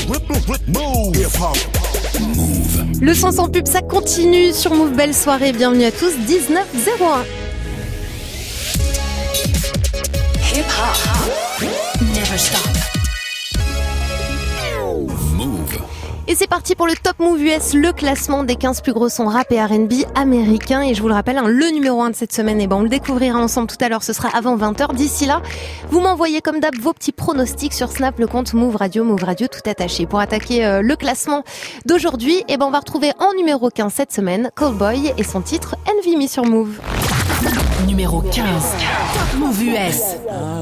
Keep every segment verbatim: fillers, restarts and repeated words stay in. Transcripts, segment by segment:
Le son sans pub, ça continue sur Move. Belle soirée, bienvenue à tous, dix-neuf zéro un. Hip hop, never stop. Move. Et c'est parti pour le Top Move U S, le classement des quinze plus gros sons rap et R and B américains. Et je vous le rappelle, hein, le numéro un de cette semaine, et ben on le découvrira ensemble tout à l'heure, ce sera avant vingt heures. D'ici là, vous m'envoyez comme d'hab vos petits pronostics sur Snap, le compte Move Radio, Move Radio tout attaché. Pour attaquer euh, le classement d'aujourd'hui, et ben on va retrouver en numéro quinze cette semaine Callboy et son titre Envy Me sur Move. Numéro quinze, Top Move U S.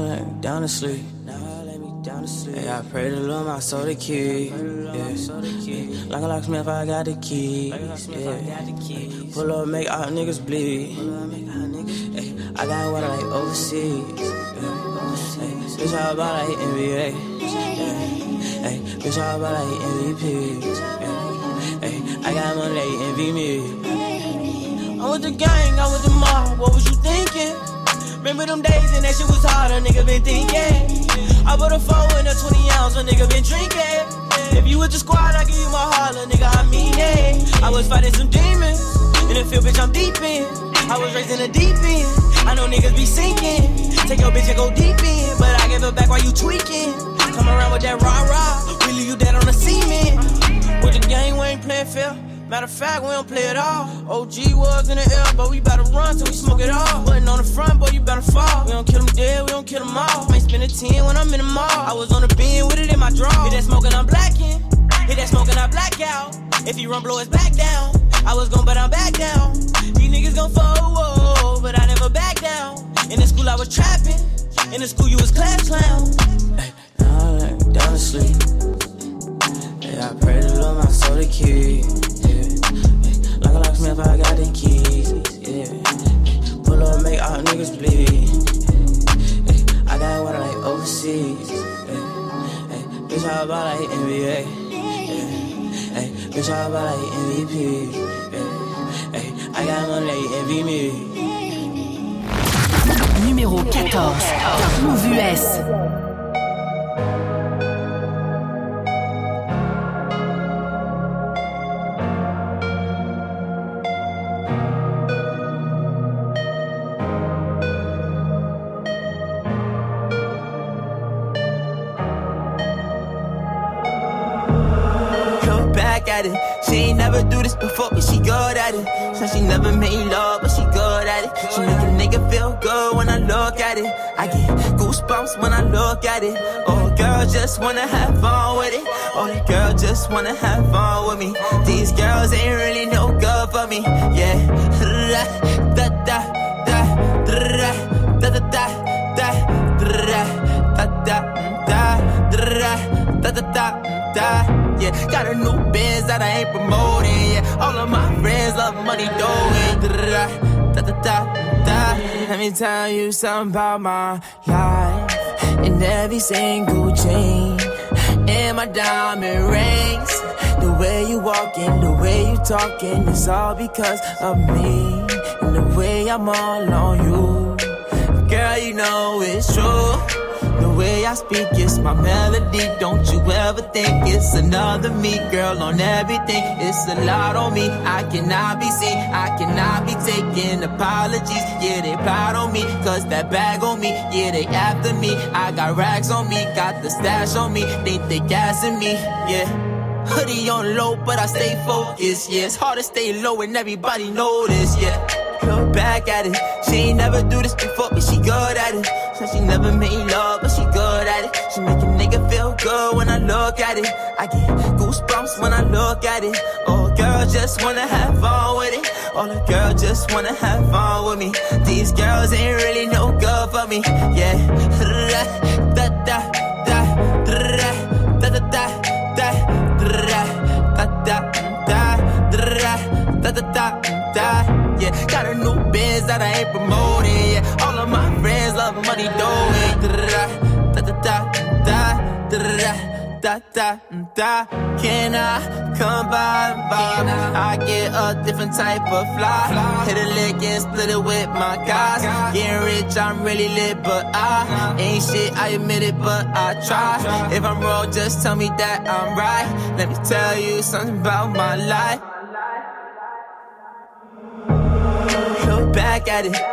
Hey, I pray to Lord my soul to keep. Yeah. Like a locksmith, I got the keys. Yeah. Pull up, make all niggas bleed. Hey, I got what I like overseas. Yeah. Hey, bitch, all about like N B A. Yeah. Hey, bitch, all about like M V P. Yeah. Hey, I got money, they envy me. I'm with the gang, I'm with the mob. What was you thinking? Remember them days and that shit was hard, a nigga been thinking. I put a four in a twenty ounce, a nigga been drinking. If you with the squad, I give you my heart, a nigga, I mean it. I was fighting some demons, in the field, bitch, I'm deep in. I was raised in the deep end, I know niggas be sinking. Take your bitch and go deep in, but I give it back while you tweaking. Come around with that rah-rah, we leave you dead on the cement. With the game, we ain't playing fair. Matter of fact, we don't play it all. O G was in the air, but we better run till we smoke it all. Wasn't on the front, boy, you better fall. We don't kill them dead, we don't kill them all. Might spend a ten when I'm in the mall. I was on the beam with it in my draw. Hit that smoking, I'm blacking. Hit that smoking, I black out. If he run, blow his back down. I was gon' but I'm back down. These niggas gon' fall, but I never back down. In the school I was trapping. In the school you was class clown. Hey, now I lay down to sleep. Hey, I pray to Lord my soul to keep. Like a locksmith, I got the keys, yeah. Pull up, make all niggas bleed. Hey, I got what I like overseas. Hey, bitch, all about like N B A. Hey, bitch, all about like M V P. Hey, I got money, they envy me. Numéro quatorze, Top Move U S. At it. She ain't never do this before, but she good at it. So she never made love, but she good at it. She make a nigga feel good when I look at it. I get goosebumps when I look at it. Oh, girl just wanna have fun with it. Oh, the girl just wanna have fun with me. These girls ain't really no good for me. Yeah. Da da da da da da da da da da da da da. Yeah, got a new biz that I ain't promoting. Yeah, all of my friends love money doing. Da da da da. Let me tell you something about my life. In every single chain, in my diamond rings, the way you walking, the way you talking, it's all because of me. And the way I'm all on you, girl, you know it's true. The way I speak, it's my melody. Don't you ever think it's another me, girl, on everything. It's a lot on me. I cannot be seen. I cannot be taking apologies. Yeah, they proud on me, cause that bag on me. Yeah, they after me. I got racks on me, got the stash on me. Think they gassing me, yeah. Hoodie on low, but I stay focused, yeah. It's hard to stay low and everybody know this, yeah. Look back at it. She ain't never do this before, but she good at it. So she never made love, but she good at it. She make a nigga feel good when I look at it. I get goosebumps when I look at it. Oh, girl just wanna have fun with it. Oh, the girl just wanna have fun with me. These girls ain't really no good for me. Yeah. Da da da da da da da da da da da da da da. Yeah, got a new biz that I ain't promoting. Yeah, all of my friends love money doing. Da da da da da da da da. Can I come by and by. I get a different type of fly. Hit a lick and split it with my guys. Getting rich, I'm really lit, but I ain't shit, I admit it, but I try. If I'm wrong, just tell me that I'm right. Let me tell you something about my life. Look back at it.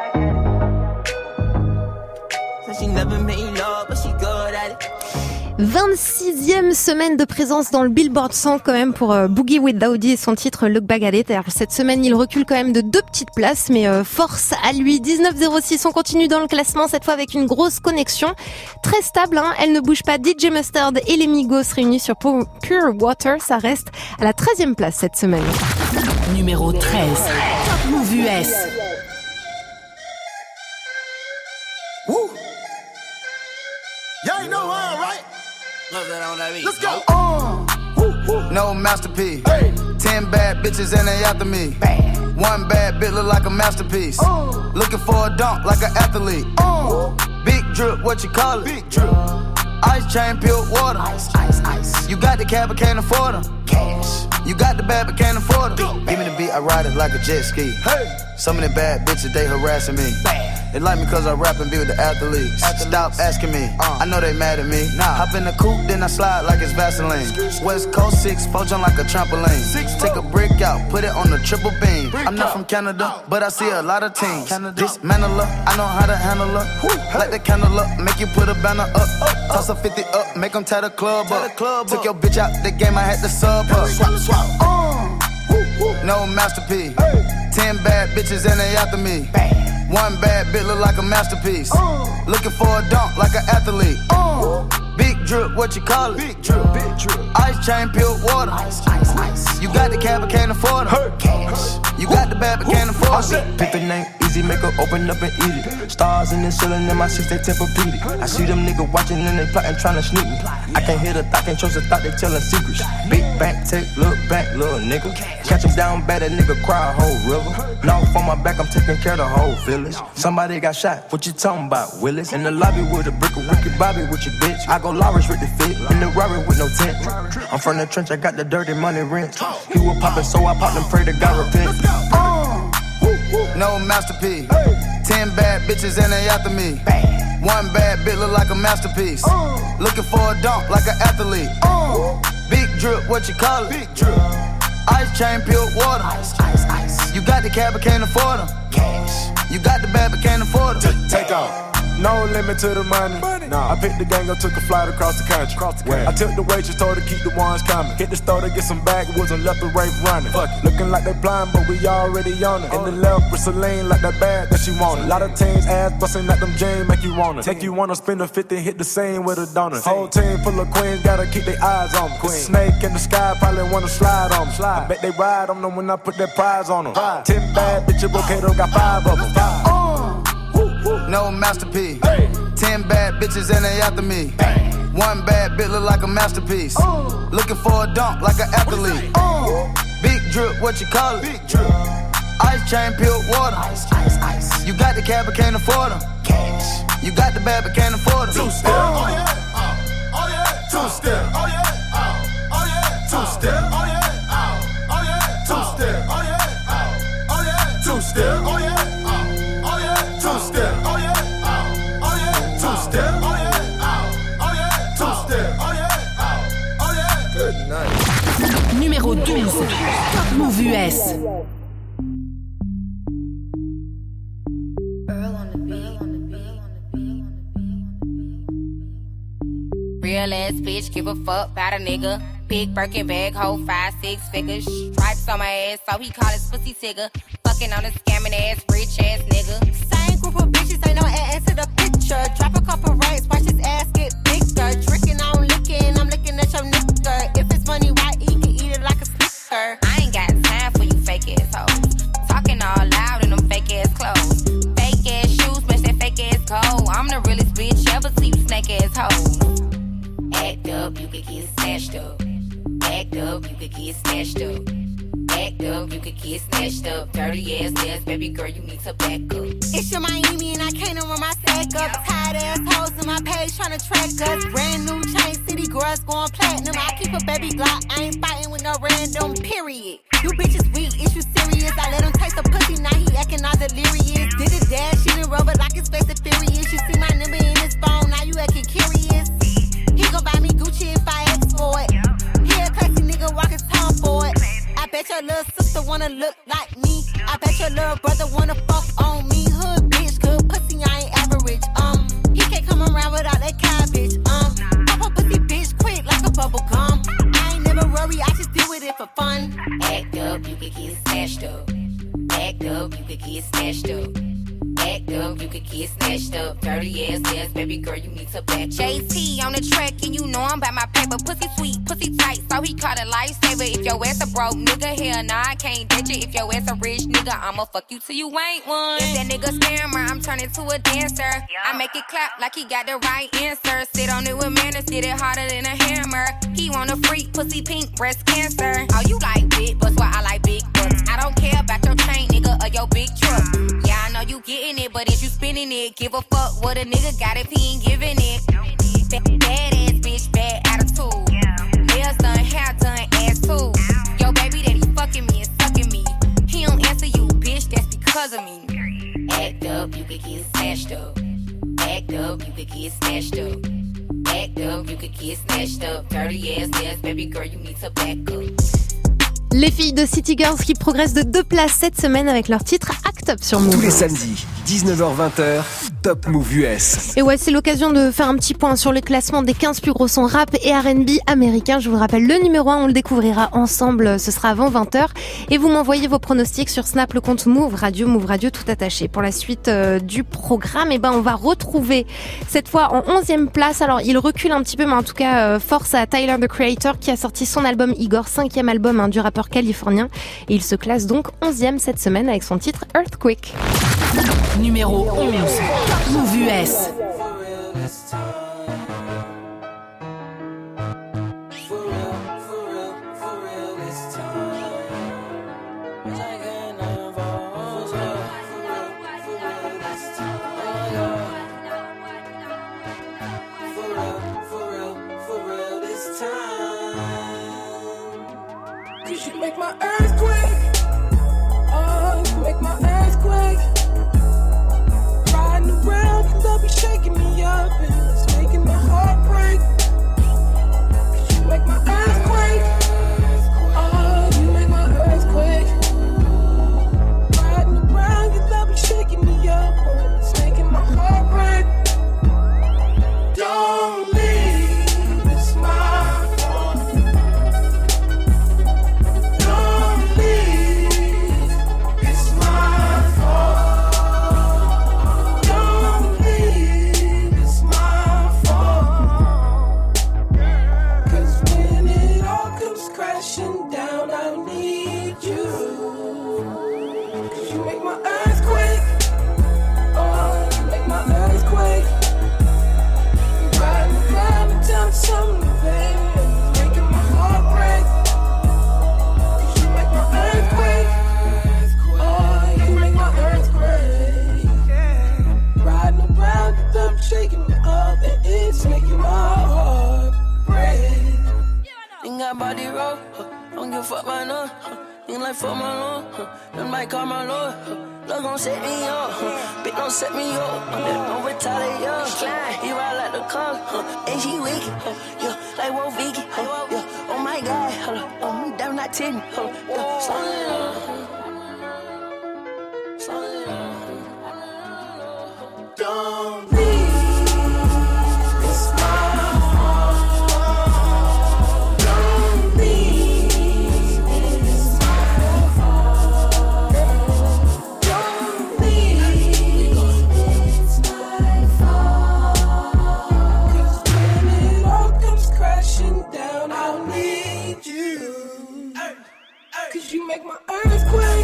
So she never made love, but she good at it. vingt-sixième semaine de présence dans le Billboard cent quand même pour euh, Boogie with Daoudi et son titre Look Back at It. Alors cette semaine il recule quand même de deux petites places, mais euh, force à lui. Dix-neuf zéro six, on continue dans le classement, cette fois avec une grosse connexion très stable, hein. Elle ne bouge pas. D J Mustard et les Migos réunis sur Pure Water, ça reste à la treizième place cette semaine. Numéro treize, Top Move U S. Woo. Y'all know how, right? Let's go. Uh, woo, woo. No masterpiece. Hey. Ten bad bitches and they after me. Bad. One bad bitch look like a masterpiece. Uh. Looking for a dunk like an athlete. Uh. Big drip, what you call it? Big drip. Ice chain, pure water. Ice, ice, ice. You got the cab, but can't afford them. Cash. You got the bad, but can't afford them. Give me the beat, I ride it like a jet ski. Hey. Some of the bad bitches, they harassing me. Bad. They like me cause I rap and be with the athletes. athletes. Stop asking me, uh. I know they mad at me. Nah. Hop in the coupe, then I slide like it's Vaseline. West Coast six, four jump like a trampoline. Six, Take a brick out, put it on the triple beam. Brick I'm not out. From Canada, but I see a lot of teams. Dismantle her, I know how to handle her. Woo. Light the candle up, make you put a banner up. up. Toss a fifty up, make them tie the club tie up. The club Took up. Your bitch out the game, I had to sub her. Swap, swap. Uh. Woo, woo. No masterpiece. Hey. Ten bad bitches and they after me. Bad. One bad bitch look like a masterpiece. Uh, Looking for a dunk like an athlete. Uh, big drip, what you call it? Big drip, big drip. Ice chain, pure water. Ice, ice, ice. You got the cab, but can't afford it. Cash. You got the bad, but can't afford it. Pick the name, easy, make her open up and eat it. Stars in the ceiling in my six, they Tempur-Pedic. I see them niggas watching and they plotting, trying to sneak me. I can't hear the thought, can't trust the thought, they telling secrets. Big bank, take, look back, little nigga. Catch him down bad, that nigga cry a whole river. Now on my back, I'm taking care of the whole village. Somebody got shot, what you talking about, Willis? In the lobby with a brick of Ricky Bobby with your bitch. I go Lawrence with the fit, in the Rari with no tent. I'm from the trench, I got the dirty money rent. He was poppin', so I popped and pray to God repent. Uh, no masterpiece. Ten bad bitches and they after me. One bad bitch look like a masterpiece. Looking for a dunk like an athlete. Big drip, what you call it? Big drip. Ice chain, pure water. Ice, ice, ice. You got the cab, but can't afford them. Cash. You got the bad, but can't afford them. Take, take off. No limit to the money. money. Nah. I picked the gang up, took a flight across the country. Across the country. I took the waitress, told her keep the ones coming. Hit the store to get some backwoods and left the rape running. Fuck it. Looking like they blind, but we already on it. In the left with Celine, like that bag that she wanted. A lot of teams ass busting like them jeans, make you wanna. Make you wanna spend a fifty, hit the scene with a donut. Whole team full of queens, gotta keep their eyes on me. Queen. Snake in the sky, probably wanna slide on me. Slide. I bet they ride on them when I put that prize on them. Ride. Ten bad bitches, okay, though, got five of them. Five. Uh, no masterpiece. Hey. Ten bad bitches and they after me. Bang. One bad bitch look like a masterpiece. Uh, Looking for a dunk like an athlete. Uh, Big drip, what you call it? Big drip. Ice chain, pure water. Ice, ice, ice. You got the cab, but can't afford them. Cash. You got the bad, but can't afford them. Two step. Oh yeah. Oh, oh yeah. Two step. Oh yeah. Oh, oh yeah. Two step. Oh yeah. Oh, oh yeah. Two step. Oh yeah. Oh, oh yeah. Two step. Oh yeah. Oh, oh yeah. Two step. Oh yeah. Two step, oh yeah, oh, oh yeah, two step, oh yeah, oh, oh yeah. Good night. Numéro douze, Top Move U S. Real ass bitch, give a fuck about a nigga. Big Birkin bag, hold five, six figures. Stripes on my ass, so he call his pussy tigger. Fucking on a scamming ass, rich ass nigga. Same group of bitches, ain't no ass to the picture. Drop a couple rights, watch his ass get bigger. Tricking on licking, I'm looking at your nigga. If it's money right, he can eat it like a snicker. I ain't got time for you fake ass hoes. Talking all loud in them fake ass clothes. Fake ass shoes, match that fake ass coat. I'm the realest bitch ever, see you snake ass hoes. Act up, you could get snatched up. Act up, you could get snatched up. Act up, you could get snatched up. Dirty ass ass, baby girl, you need to back up. It's your Miami and I can't run my stash back up. Tired assholes in my page trying to track us. Brand new chain city girls going platinum. I keep a baby Glock, I ain't fighting with no random, period. You bitches weak, is you serious? I let him taste the pussy, now he acting all delirious. Did it dash, she didn't rubber like his face is furious. You see my number in his phone, now you acting curious. He gon' buy me Gucci if I ask for it. He a classy nigga walking tongue for it. I bet your little sister wanna look like me. I bet your little brother wanna fuck on me. Hood bitch, good pussy, I ain't average. Um, he can't come around without that cabbage. Um, pop a pussy bitch quick like a bubble gum. I ain't never worry, I just deal with it for fun. Act up, you could get snatched up. Act up, you could get snatched up. Act up, you could get snatched up. Dirty ass ass, baby girl, you need to back. J T on the track, and you know I'm by my paper. Pussy sweet, pussy tight, so he caught a lifesaver. If your ass a broke nigga, hell nah, I can't ditch it. If your ass a rich nigga, I'ma fuck you till you ain't one. If that nigga scammer, I'm turning to a dancer. I make it clap like he got the right answer. Sit on it with manners, get it harder than a hammer. He want a freak, pussy pink, breast cancer. Oh, you like big butts, well, I like big butts. I don't care about your chain, nigga, or your big truck. Yeah, I know you getting it, but is you spinning it? Give a fuck what a nigga got if he ain't giving it. Bad, bad ass bitch, bad attitude. Nails done, hair done, ass too. Yo, baby that he fucking me and sucking me. He don't answer you, bitch, that's because of me. Act up, you could get snatched up. Act up, you could get snatched up. Act up, you could get snatched up. Dirty ass ass, baby girl, you need to back up. Les filles de City Girls qui progressent de deux places cette semaine avec leur titre Act Up sur Move. Tous les samedis, dix-neuf heures vingt, Top Move U S. Et ouais, c'est l'occasion de faire un petit point sur le classement des quinze plus gros sons rap et R and B américains. Je vous le rappelle, le numéro un, on le découvrira ensemble, ce sera avant vingt heures. Et vous m'envoyez vos pronostics sur Snap, le compte Move Radio, Move Radio tout attaché. Pour la suite euh, du programme, eh ben, on va retrouver cette fois en onzième place. Alors, il recule un petit peu, mais en tout cas, euh, force à Tyler, the Creator, qui a sorti son album Igor, cinquième album hein, du rappeur californien. Et il se classe donc onzième cette semaine avec son titre Earthquake. Numéro onze, Move U S. Make my earthquake, oh, you make my earthquake. Riding around, you love me shaking me up, and it's making my heart break. Cause you make my earthquake, oh, you make my earthquake. Riding around, you love me shaking me up, and it's making my heart break. Don't leave, it's my fault. Shaking me up and it's making my heart break. Ain't got body roll, huh? Don't give a fuck my love, huh? Ain't like fuck my lord, huh? Them might call my lord, huh? Love gon' set me up, huh? Bitch don't set me up, huh? Don't retaliate, yo. Slide, he ride like the car, huh? And she wicked, huh? Yeah, like Wolf Vicky, huh? Yeah, oh my God, huh? Oh, me down not ten, huh? Yeah, slow it up, slow it up. Don't leave. You make my earthquake.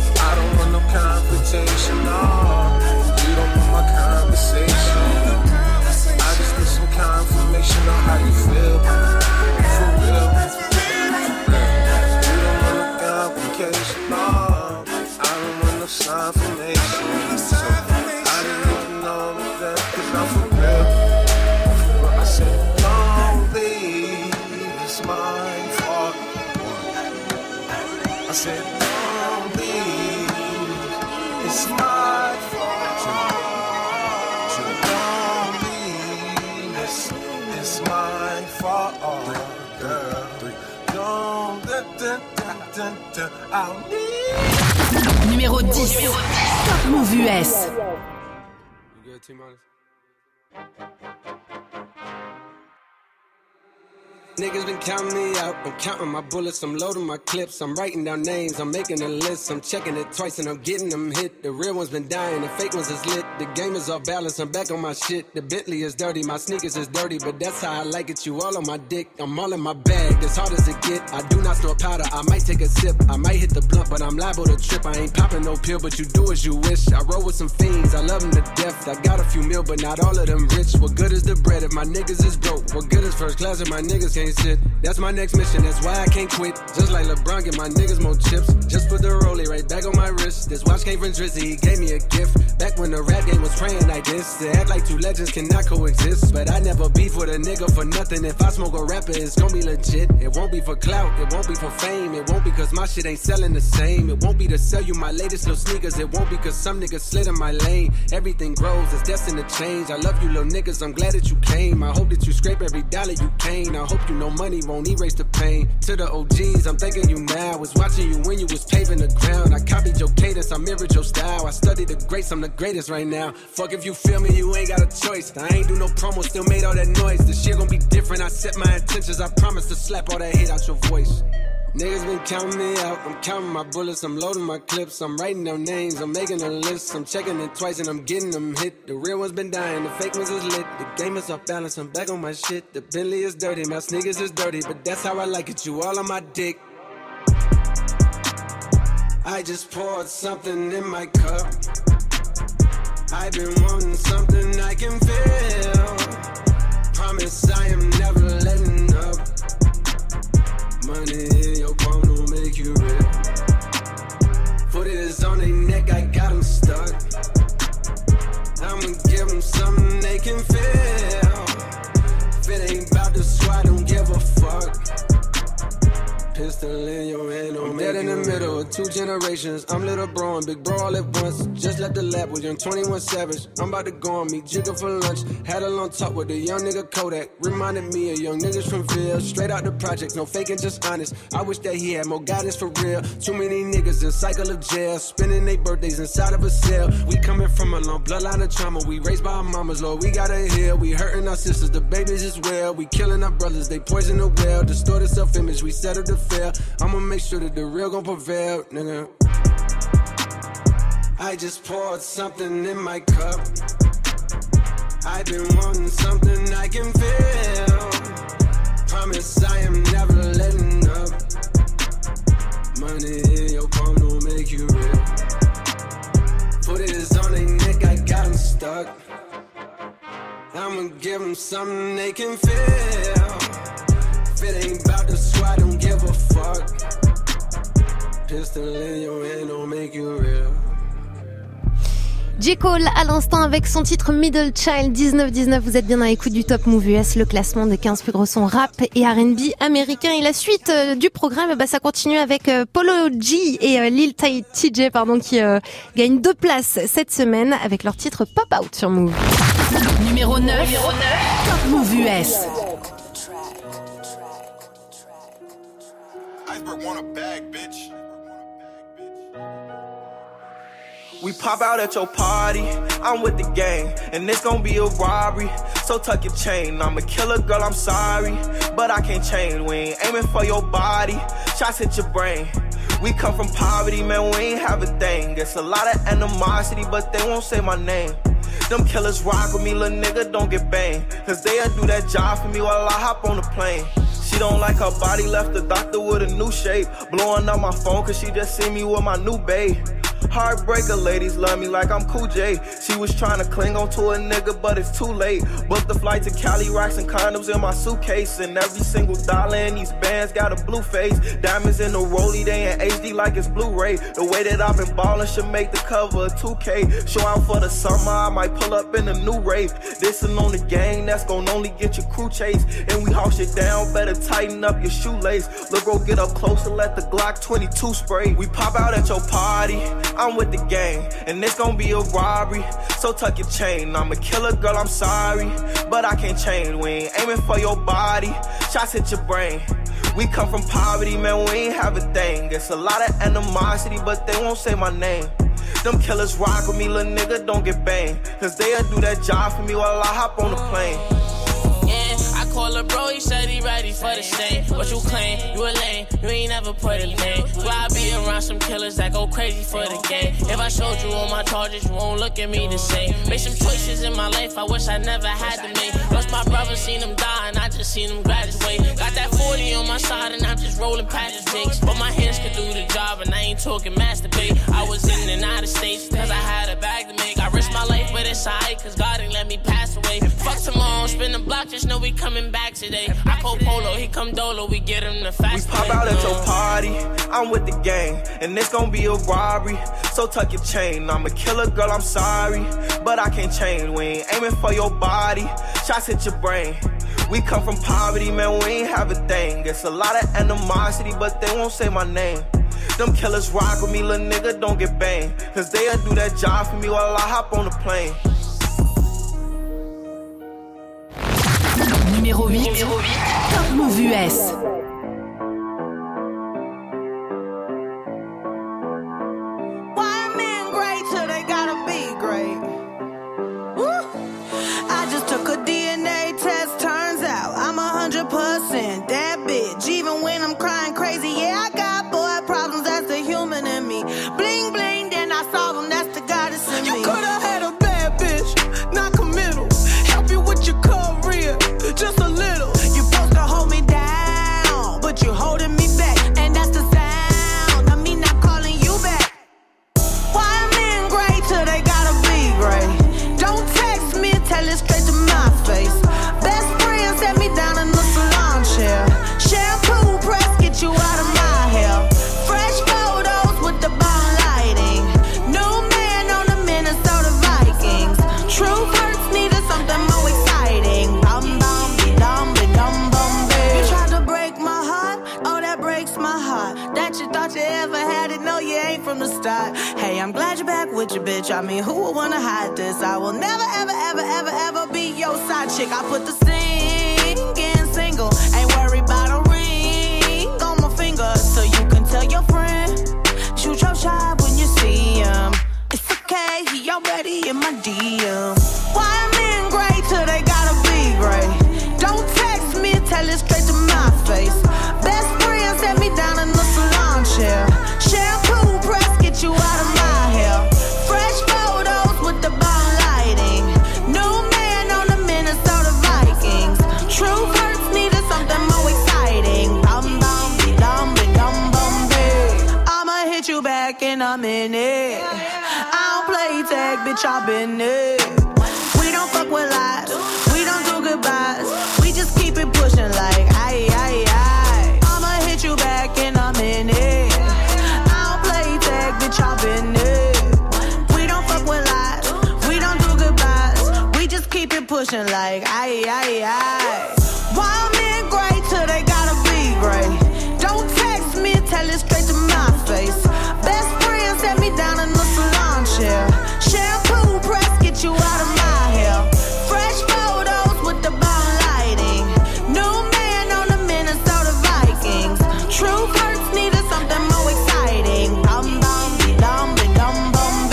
mine fault. I said, don't leave, it's my fault. Don't leave, it's, it's my fault, girl. Don't, da, da, da, da, da, I'll need. Numéro dix. Top Move U S. You good, T-Minus? Niggas been counting me out, I'm counting my bullets, I'm loading my clips, I'm writing down names, I'm making a list, I'm checking it twice and I'm getting them hit. The real ones been dying, the fake ones is lit, the game is off balance, I'm back on my shit. The Bentley is dirty, my sneakers is dirty, but that's how I like it, you all on my dick, I'm all in my bag, as hard as it get. I do not store powder, I might take a sip, I might hit the blunt, but I'm liable to trip. I ain't popping no pill, but you do as you wish. I roll with some fiends, I love them to death, I got a few mil, but not all of them rich. What good is the bread if my niggas is broke? What good is first class if my niggas can't sit? That's my next mission, that's why I can't quit. Just like LeBron, get my niggas more chips. Just put the rollie right back on my wrist. This watch came from Drizzy, he gave me a gift. Back when the rap game was praying like this. To act like two legends cannot coexist. But I never beef with a nigga for nothing. If I smoke a rapper, it's gonna be legit. It won't be for clout, it won't be for fame. It won't be cause my shit ain't selling the same. It won't be to sell you my latest little sneakers. It won't be cause some niggas slid in my lane. Everything grows, it's destined to change. I love you little niggas, I'm glad that you came. I hope that you scrape every dollar you can. I hope you know money won't erase the pain. To the O Gs, I'm thanking you now. I was watching you when you was paving the ground. I copied your cadence, I mirrored your style. I studied the greats, I'm the greatest right now. Fuck if you feel me, you ain't got a choice. I ain't do no promo, still made all that noise. The shit gon' be different, I set my intentions. I promise to slap all that hate out your voice. Niggas been counting me out, I'm counting my bullets, I'm loading my clips, I'm writing down names, I'm making a list, I'm checking it twice and I'm getting them hit. The real ones been dying, the fake ones is lit, the game is off balance, I'm back on my shit. The Bentley is dirty, my sneakers is dirty, but that's how I like it, you all on my dick. I just poured something in my cup, I've been wanting something I can feel. Promise I am never letting up. Money in your palm don't make you real. Foot is on their neck, I got them stuck. I'ma give them something they can feel. If it ain't about the squad, don't give a fuck. Pistol in your hand, don't make it. I'm dead in the middle of two generations. I'm little bro and big bro all at once. Just left the lab with young twenty-one Savage. I'm about to go on me Jigga for lunch. Had a long talk with a young nigga Kodak. Reminded me of young niggas from Ville. Straight out the projects, no faking, just honest. I wish that he had more guidance for real. Too many niggas in cycle of jail, spending their birthdays inside of a cell. We coming from a long bloodline of trauma. We raised by our mamas, Lord, we gotta heal. We hurting our sisters, the babies as well. We killing our brothers, they poison the well. Distorted self-image, we settle the fail. I'ma make sure that the real gon' prevail, nigga. I just poured something in my cup. I've been wanting something I can feel. Promise I am never letting up. Money in your palm don't make you real. Foot is on their neck, I got them stuck. I'ma give them something they can feel. If it ain't about the squad, don't give a fuck. Pistol in your hand don't make you real. J. Cole à l'instant avec son titre Middle Child. Dix-neuf dix-neuf, vous êtes bien à l'écoute du Top Move U S, le classement des quinze plus gros sons rap et R and B américains. Et la suite euh, du programme, bah, ça continue avec euh, Polo G et euh, Lil T J pardon, qui euh, gagnent deux places cette semaine avec leur titre Pop Out sur Move. Numéro neuf, Numéro neuf. Top Move U S. Want a bag, bitch. We pop out at your party, I'm with the gang, and it's gon' be a robbery, so tuck your chain. I'm a killer, girl, I'm sorry, but I can't change. We ain't aiming for your body, shots hit your brain. We come from poverty, man, we ain't have a thing. It's a lot of animosity, but they won't say my name. Them killers rock with me, little nigga, don't get banged. Cause they'll do that job for me while I hop on the plane. She don't like her body, left the doctor with a new shape. Blowing up my phone cause she just see me with my new babe. Heartbreaker, ladies love me like I'm Cool J. She was trying to cling on to a nigga, but it's too late. Booked the flight to Cali, rocks and condoms in my suitcase. And every single dollar in these bands got a blue face. Diamonds in the rollie, they in H D like it's Blu-ray. The way that I've been ballin' should make the cover of two K. Show out for the summer, I might pull up in a new rave. This'n on the gang, that's gon' only get your crew chase. And we hawk shit down, better tighten up your shoelace. Look, bro, get up close and let the Glock twenty-two spray. We pop out at your party, I'm with the gang, and it's gon' be a robbery. So tuck your chain, I'm a killer, girl, I'm sorry, but I can't change. We ain't aiming for your body, shots hit your brain. We come from poverty, man, we ain't have a thing. It's a lot of animosity, but they won't say my name. Them killers rock with me, little nigga, don't get banged. Cause they'll do that job for me while I hop on the plane. Yeah, I call a bro, he said he ready for the stain. What you claim? You a lame, you ain't never put a name. Why I be around some killers that go crazy for the game? If I showed you all my charges, you won't look at me the same. Made some choices in my life I wish I never had to make. Lost my brother, seen him die, and I just seen him graduate. Got that forty on my side, and I'm just rolling past the jakes. But my hands could do the job, and I ain't talking masturbate. I was in and out of states, cause I had a bag to make. I risked my life, but it's alright, cause God ain't let me pass away. Fuck tomorrow, spin the block, just know we coming back today. I call Polo, he come Dolo, we get him the fast. We pop out at your party, I'm with the gang, and it's gon' be a robbery. So tuck your chain, I'm a killer, girl, I'm sorry, but I can't change. We ain't aiming for your body, shots hit your brain. We come from poverty, man, we ain't have a thing. It's a lot of animosity, but they won't say my name. Them killers rock with me, little nigga, don't get banged. Cause they'll do that job for me while I hop on the plane. Numéro huit, Numéro huit. Top Move U S. Why men great till they gotta be great? Woo! I just took a D N A test, turns out I'm a hundred percent that bitch. Even when I'm crying crazy, yeah, I got boy problems, that's the human in me. Bling bling, then I solve them, that's the goddess in me. You could've had a bad bitch, not committal. Help you with your career, just a little. You supposed to hold me down, but you holding me back, and that's the sound of me not calling you back. Why men great till they gotta be great? Don't text me, tell it straight to my face. Best friend set me down in the salon chair. Shampoo press, get you out of my hair. Fresh photos with the bomb lighting. New man on the Minnesota Vikings. Truth hurts, needed something more exciting. Bum bum be dum be dum bum be. You tried to break my heart, oh that breaks my heart. That you thought you ever had it, no you ain't from the start. Hey, I'm glad you're back with your bitch. I mean, who would wanna hide this? I will never ever ever ever ever be your side chick. I put the singing single, ain't worried about a ring on my finger, so you can tell your friend, shoot your shot when you see him. It's okay, he already in my D M. Why men great till they gotta be great? Don't text me, tell it straight to my face. Best friend set me down in the salon chair. Shampoo press, get you out of my hair. Fresh photos with the bomb lighting. New man on the Minnesota Vikings. Truth hurts, needed something more exciting. Bum bum be dum be dum bum be. I'ma hit you back in a minute. I don't play tag, bitch, I've been it. We don't fuck with lies, we don't do goodbyes. We just keep it pushing like aye aye aye. I'ma hit you back in a minute. I don't play tag, bitch, I've been it. We don't fuck with lies, we don't do goodbyes. We just keep it pushing like aye aye aye. Why men great till they gotta be great? Don't text me, tell it straight to my face. Best friend set me down in the salon chair. Shampoo press, get you out of my hair. Fresh photos with the bomb lighting. New man on the Minnesota Vikings. Truth hurts, needed something more exciting. Bum bum be dum be dum bum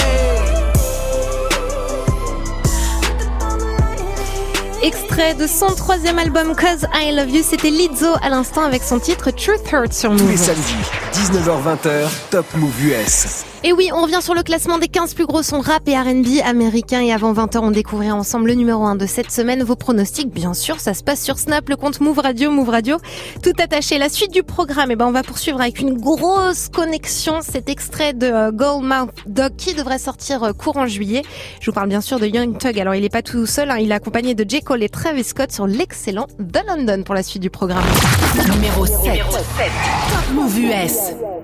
be. Extrait de son troisième album Cause I Love You, c'était Lizzo à l'instant avec son titre Truth Hurts sur Move. Tous les samedis, dix-neuf heures vingt, Top Move U S. Et oui, on revient sur le classement des quinze plus gros sons rap et R and B américains. Et avant vingt heures, on découvrira ensemble le numéro un de cette semaine. Vos pronostics, bien sûr, ça se passe sur Snap, le compte Move Radio, Move Radio, tout attaché. La suite du programme, eh ben, on va poursuivre avec une grosse connexion. Cet extrait de euh, Goldmouth Dog qui devrait sortir euh, courant juillet. Je vous parle bien sûr de Young Thug. Alors, il est pas tout seul, hein, il est accompagné de J. Cole et Travis Scott sur l'excellent The London pour la suite du programme. Numéro sept. Numéro sept. Top Move U S.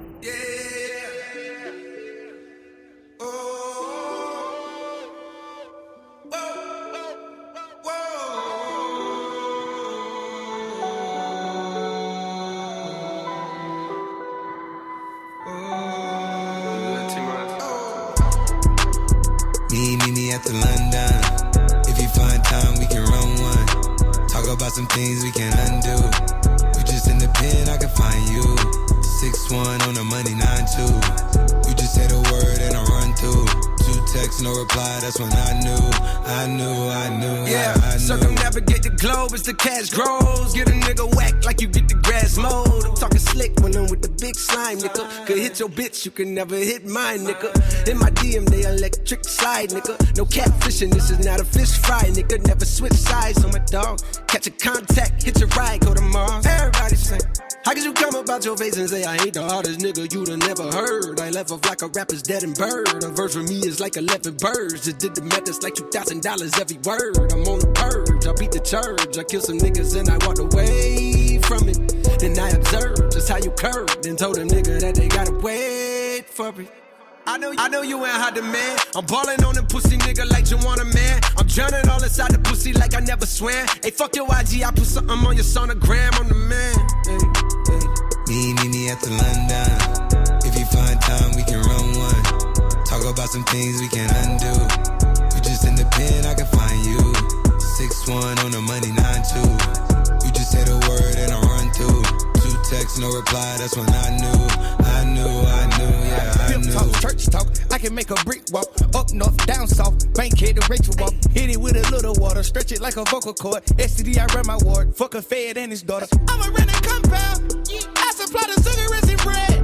Me, me, me at the London. If you find time, we can run one. Talk about some things we can undo. You just in the pen, I can find you. six one on the money, nine two. You just say the word and I run through. Two texts, no reply, that's when I knew. I knew, I knew, yeah, I, I knew. Circumnavigate the globe as the cash grows. Get a nigga whack like you get the grass mowed. I'm talking slick when I'm with the big slime, nigga. Could hit your bitch, you can never hit mine, nigga. In my D M, they electric slide, nigga. No catfishing, this is not a fish fry, nigga. Never switch sides on my dog. Catch a contact, hit your ride, go to Mars. Everybody sing. How could you come about your face and say I ain't the hardest nigga you'd have never heard? I left off like a rapper's dead and bird. A verse for me is like eleven birds. Just did the math, it's like two thousand dollars every word. I'm on the purge, I beat the church. I killed some niggas and I walked away from it. Then I observed just how you curved and told a nigga that they gotta wait for it. I know, I know you ain't hot demand. I'm ballin' on them pussy nigga like you want a man. I'm drowning all inside the pussy like I never swam. Hey, fuck your I G, I put something on your sonogram. I'm the man. Hey, hey. Me, me, me at the London. If you find time, we can run one. Talk about some things we can undo. You just in the pen, I can find you. six one on the money, nine two. You just say the word and I run through. Two texts, no reply, that's when I knew. I knew, I knew, yeah, I Pimp knew. talk, church talk, I can make a brick walk. Up north, down south, bank head to Rachel walk. Hit it with a little water, stretch it like a vocal cord. S T D, I run my ward, fuck a fed and his daughter. I'm a rented compound, I supply the cigarettes and bread.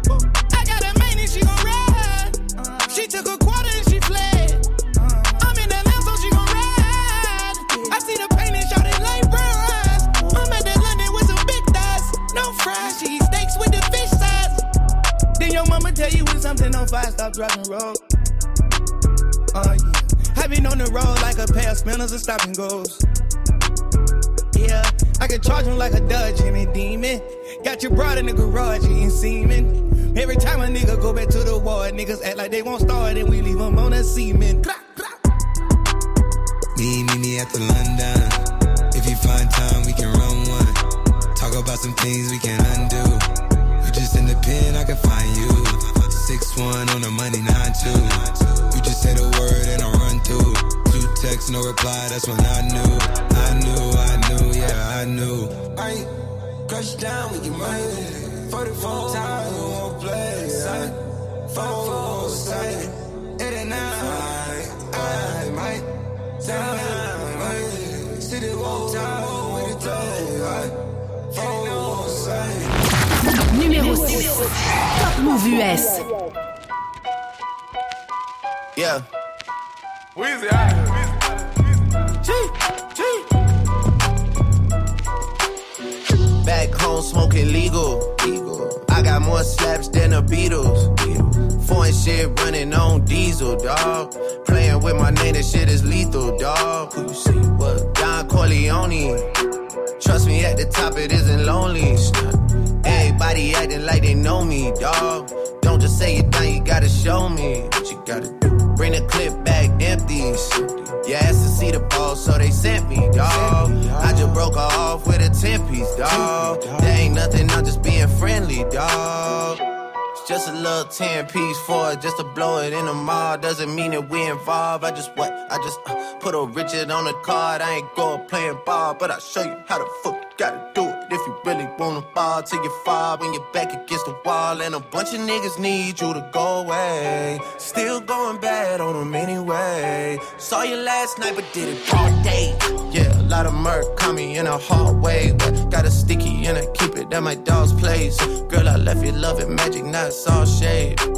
I got a main and she gon' ride. She took a quarter and she fled. I'm in the lamp so she gon' ride. I see the pain and shout it like bronze. I'm at the London with some big thighs. No fries, cheese steaks with the fish size. Then your mama tell you when something on fire, stop driving road. Uh, yeah. I been on the road like a pair of spinners and stop and goes. Yeah, I can charge him like a Dodge and a demon. Got your broad in the garage, he ain't seeming. Every time a nigga go back to the ward, niggas act like they won't start and we leave them on a semen. Me, me, me at the London. If you find time, we can run one. Talk about some things we can undo. You just in the pen, I can find you. six one on the money, nine two. You just say the word and I run through. Two texts, no reply, that's when I knew. I knew, I knew, yeah, I knew. I ain't crush down with your money. forty-four times, we won't play. Four, say, eighty-nine, I might. Down, might. City walk time with the day. Four, say. Numéro six. Top Move U S. Yeah. Weezy out Back home smoking legal. I got more slaps than the Beatles. Foreign shit running on diesel, dawg. Playing with my name, that shit is lethal, dawg. Who you see? What? Don Corleone. Trust me, at the top it isn't lonely. Everybody acting like they know me, dawg. Don't just say it down, you gotta show me what you gotta do. Bring the clip back empty. You asked to see the ball, so they sent me, dawg. I just broke her off with a ten-piece, dawg. There ain't nothing, I'm just being friendly, dawg. It's just a little ten-piece for it, just to blow it in the mall. Doesn't mean that we involved. I just what? I just uh, put a Richard on the card. I ain't going playing ball, but I'll show you how the fuck you gotta do it. If you really wanna ball till you fall when you're back against the wall. And a bunch of niggas need you to go away. Still going bad on them anyway. Saw you last night but did it all day. Yeah, a lot of murk caught me in a hard way. But got a sticky and I keep it at my dog's place. Girl, I left you loving magic, not all shade.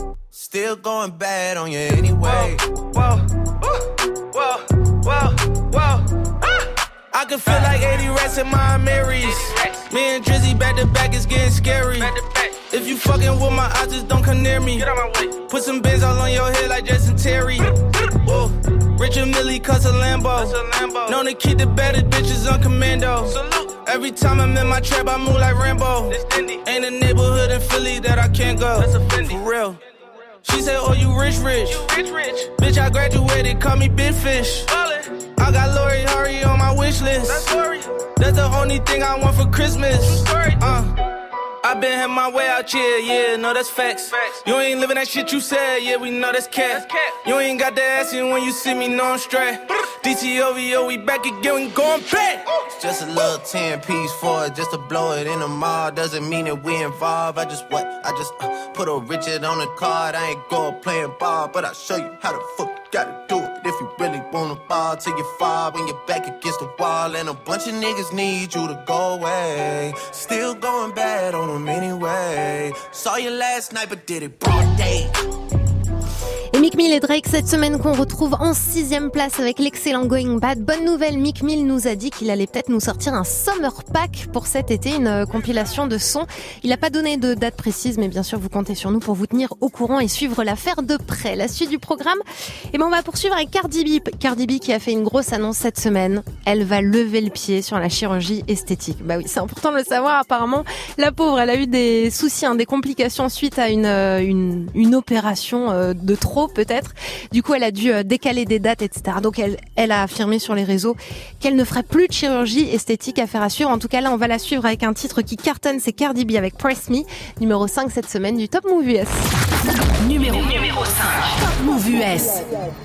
Still going bad on you anyway. Whoa, whoa, whoa, whoa, whoa. Ah! I can feel like eighty rats in my Marys. Me and Drizzy back to back is getting scary. If you fucking with my eyes, just don't come near me. Get out my way. Put some bins all on your head like Jason Terry. Whoa. Richard Millie cuss a Lambo. Lambo. Known to keep the better bitches on commando. Salute. Every time I'm in my trap, I move like Rambo. Ain't a neighborhood in Philly that I can't go. For real. She said, oh, you rich, rich. You rich, rich. Bitch, I graduated, call me Big Fish. Ballin'. I got Lori Hurry on my wish list. That's Lori. That's the only thing I want for Christmas. Uh. I been had my way out here, yeah, no, that's facts. facts. You ain't living that shit you said, yeah, we know that's cat. You ain't got that ass in when you see me, no, I'm straight. D T O V O, we back again, we going back. It's just a little ten piece for it, just to blow it in the mall. Doesn't mean that we involved. I just what? I just uh, put a Richard on the card. I ain't go playing ball, but I'll show you how the fuck you gotta do it. If you really wanna ball till you fall when you're back against the wall. And a bunch of niggas need you to go away. Still going bad on them anyway. Saw you last night, but did it broad day. Et Meek Mill et Drake cette semaine qu'on retrouve en sixième place avec l'excellent Going Bad. Bonne nouvelle, Meek Mill nous a dit qu'il allait peut-être nous sortir un Summer Pack pour cet été, une compilation de sons. Il n'a pas donné de date précise, mais bien sûr vous comptez sur nous pour vous tenir au courant et suivre l'affaire de près. La suite du programme, eh ben on va poursuivre avec Cardi B. Cardi B qui a fait une grosse annonce cette semaine. Elle va lever le pied sur la chirurgie esthétique. Bah oui, c'est important de le savoir. Apparemment, la pauvre, elle a eu des soucis, hein, des complications suite à une une, une opération de trop peut-être. Du coup, elle a dû décaler des dates, et cetera. Donc, elle, elle a affirmé sur les réseaux qu'elle ne ferait plus de chirurgie esthétique à faire à suivre. En tout cas, là, on va la suivre avec un titre qui cartonne, c'est Cardi B avec Press Me, numéro cinq cette semaine du Top Move U S. Numéro, numéro cinq, Top Move U S.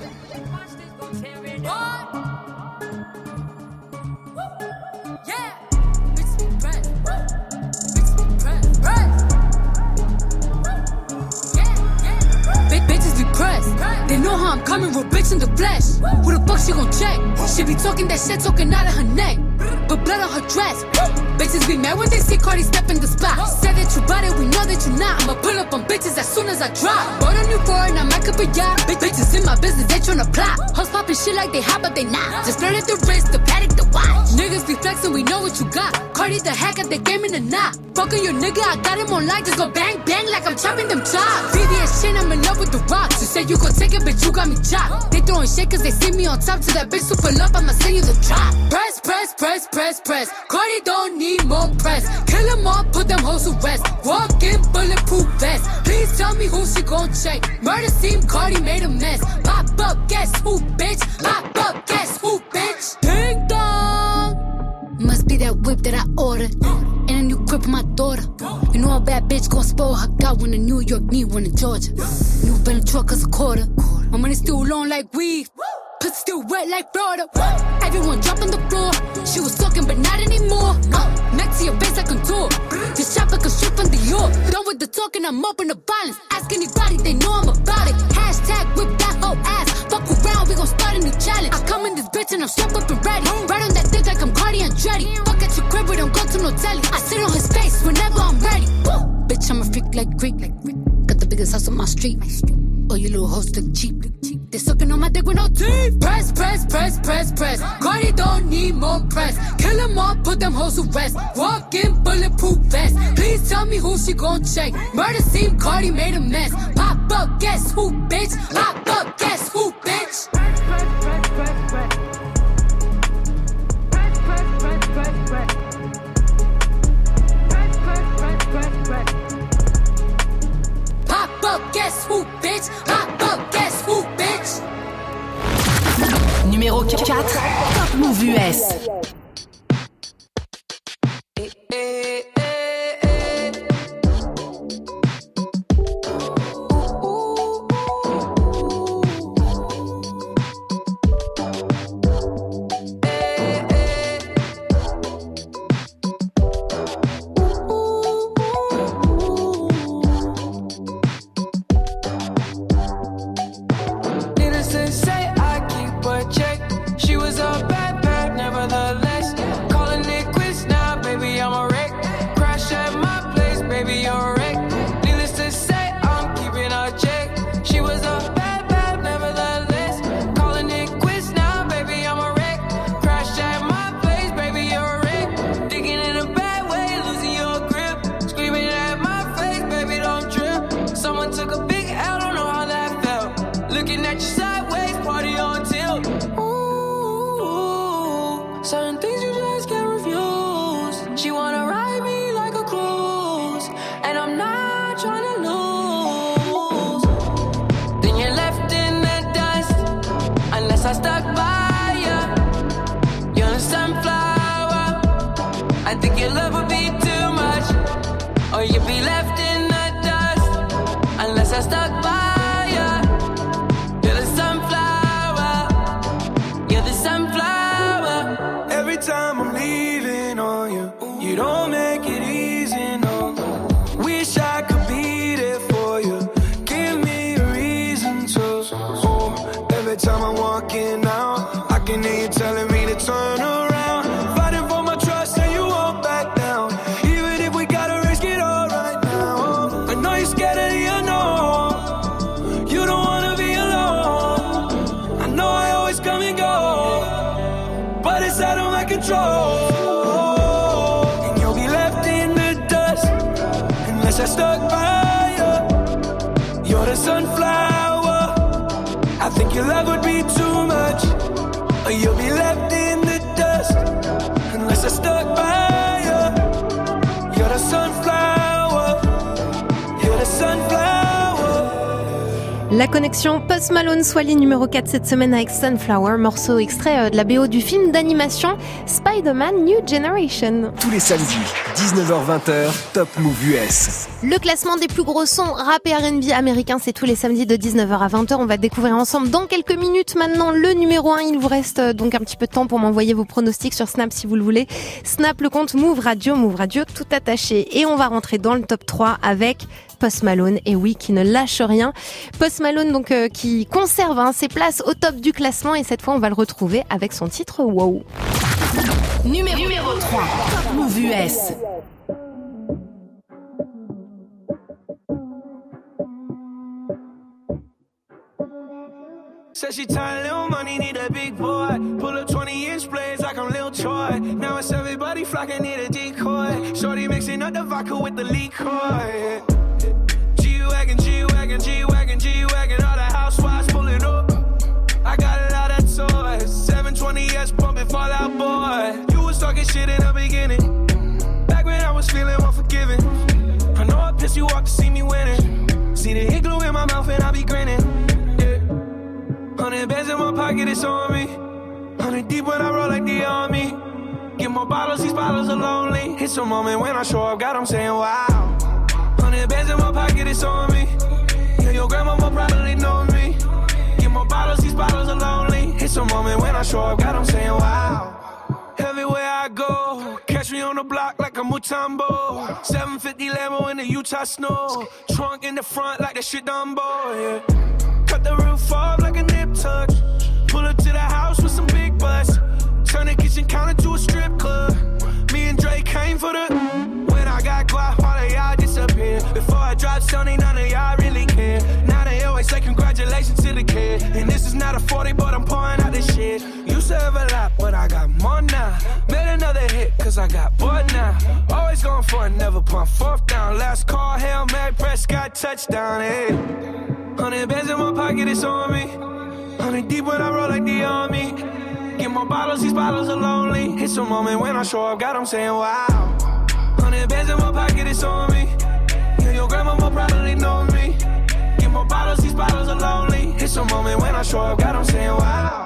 They know how I'm coming, real bitch in the flesh. Who the fuck she gon' check? She be talking that shit, talking out of her neck. But blood on her dress. Bitches be mad when they see Cardi step in the spot. Said that you bought it, we know that you not. I'ma pull up on bitches as soon as I drop. Bought a new foreign, I might up a yacht. Big bitches in my business, they tryna plot. Hoes poppin' shit like they hot, but they not. Just flirted the wrist, the paddock, the watch. Niggas be flexin', we know what you got. Cardi the hack at the game in the knot. Fuckin' your nigga, I got him on light. Just go bang, bang like I'm chopping them chops. V V S shit, I'm in love with the rocks. You said you gon' take it, bitch, you got me chopped. They throwing shit cause they see me on top. To that bitch super love, I'ma send you the drop. Press, press, press, press, press. Cardi don't need more press. Kill them all, put them hoes to rest. Walk in bulletproof vest. Please tell me who she gon' check. Murder scene, Cardi made a mess. Pop up, guess who, bitch? Pop up, guess who, bitch? Ding dong. Must be that whip that I ordered. And a new crib for my daughter. You know a bad bitch gon' spoil her. Got one in New York, need one in Georgia. New Bentley truck is a quarter. My money still long like weed. Pussy still wet like Florida. Everyone drop on the floor. She was talking, but not anymore. Uh, next to your face like contour. This shop like a strip from Dior. Done with the talking, I'm up in the violence. Ask anybody, they know I'm about it. Hashtag whip that whole ass. Fuck around, we gon' start a new challenge. I come in this bitch and I'm strapped up and ready. Right on that dick like I'm Cardi Andretti. Fuck at your crib, we don't go to no telly. I sit on his face whenever I'm ready. Woo! Bitch, I'm a freak like Greek. Got the biggest house on my street. Oh, you little hoes look cheap. They sucking on my dick with no teeth. Press, press, press, press, press. Cardi don't need more press. Kill them all, put them hoes to rest. Walk in bulletproof vest. Please tell me who she gon' check. Murder scene, Cardi made a mess. Pop up, guess who, bitch? Pop up, guess who, bitch? Press, press, press, press, press. Press, press, press, press, press. Press, press, press, press, press. Pop up, guess who, bitch? Pop up, guess who, bitch? Numéro quatre, Top Move U S. Needless to say, I keep a check. She was a bad, bad, nevertheless. left in the dust unless I stuck by you. You're the sunflower, you're the sunflower. Every time I'm leaving on you, you don't make it easy, no. Wish I could be there for you. Give me a reason to. Oh, every time I'm walking out, I can hear you telling me to turn around. Fighting for my trust and you won't back down. Even if we gotta risk it all right now. I know you're scared of the unknown. You don't wanna be alone. I know I always come and go, but it's out of my control. And you'll be left in the dust unless I stuck by you. You're the sunflower. I think your love would be too much. Or you'll be left in the dust unless I stuck by you. You're the sunflower. You're the sunflower. La connexion Post Malone, Swally numéro quatre cette semaine avec Sunflower, morceau extrait de la B O du film d'animation Spider-Man New Generation. Tous les samedis, dix-neuf heures vingt, Top Move U S. Le classement des plus gros sons rap et R and B américains, c'est tous les samedis de dix-neuf heures à vingt heures. On va découvrir ensemble dans quelques minutes maintenant le numéro un. Il vous reste donc un petit peu de temps pour m'envoyer vos pronostics sur Snap si vous le voulez. Snap le compte Move Radio, Move Radio tout attaché. Et on va rentrer dans le top trois avec Post Malone, et oui, qui ne lâche rien. Post Malone donc euh, qui conserve hein, ses places au top du classement, et cette fois on va le retrouver avec son titre Wow. Numéro, numéro trois, Top Move U S. Said she tired, little money, need a big boy. Pull up twenty inch blades like I'm Lil Troy. Now it's everybody flocking, need a decoy. Shorty mixing up the vodka with the liquor. G-Wagon, G-Wagon, G-Wagon, G-Wagon. All the housewives pulling up. I got a lot of toys. seven twenty S pumping Fall Out Boy. You was talking shit in the beginning. Back when I was feeling unforgiving. I know I pissed you off to see me winning. See the igloo in my mouth and I be grinning. Hundred bands in my pocket, it's on me. Hundred deep when I roll like the army. Get more bottles, these bottles are lonely. It's a moment when I show up, God, I'm saying wow. Hundred bands in my pocket, it's on me. Yeah, your grandma will probably know me. Get more bottles, these bottles are lonely. It's a moment when I show up, God, I'm saying wow. Everywhere I go, catch me on the block like a Mutombo. seven fifty Lambo in the Utah snow. Trunk in the front like that shit Dumbo, yeah. Cut the roof off like a nip tuck. Pull up to the house with some big butts. Turn the kitchen counter to a strip club. Me and Drake came for the. When I got guap, all of y'all disappear. Before I dropped Sony, none of y'all really care. Now they always say congratulations to the kid. And this is not a forty, but I'm pouring out this shit. Used to have a lot, but I got more now. Made another hit, cause I got bored now. Always going for it, never punt fourth down. Last call, Hail Mary, Prescott, touchdown, hey. Hundred bands in my pocket, it's on me. Hundred deep when I roll like the army. Get more bottles, these bottles are lonely. It's a moment when I show up, God, I'm saying wow. Hundred bands in my pocket, it's on me. Yeah, your grandma will probably know me. Get more bottles, these bottles are lonely. It's a moment when I show up, God, I'm saying wow.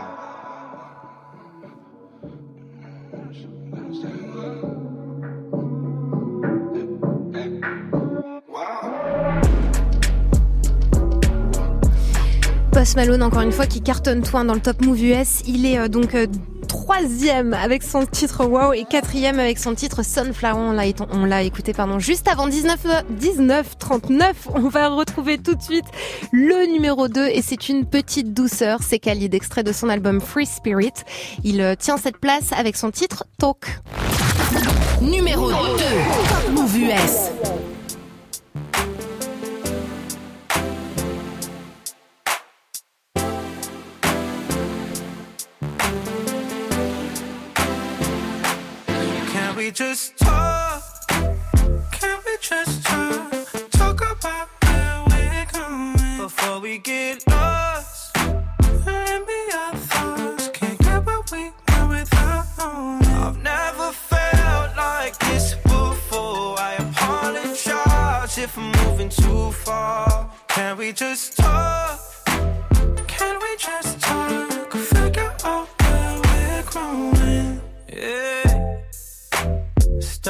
Post Malone, encore une fois, qui cartonne toi dans le Top Move U S. Il est euh, donc euh, troisième avec son titre Wow et quatrième avec son titre Sunflower. On l'a, on l'a écouté pardon, juste avant dix-neuf trente-neuf. On va retrouver tout de suite le numéro deux, et c'est une petite douceur. C'est Khalid, extrait de son album Free Spirit. Il euh, tient cette place avec son titre Talk. Numéro deux, Top Move U S. We just talk. Can we just talk? Talk about where we're going before we get lost. And be our thoughts. Can't get what we want without knowing. I've never felt like this before. I apologize if I'm moving too far. Can we just talk? Can we just talk? Figure out where we're growing. Yeah.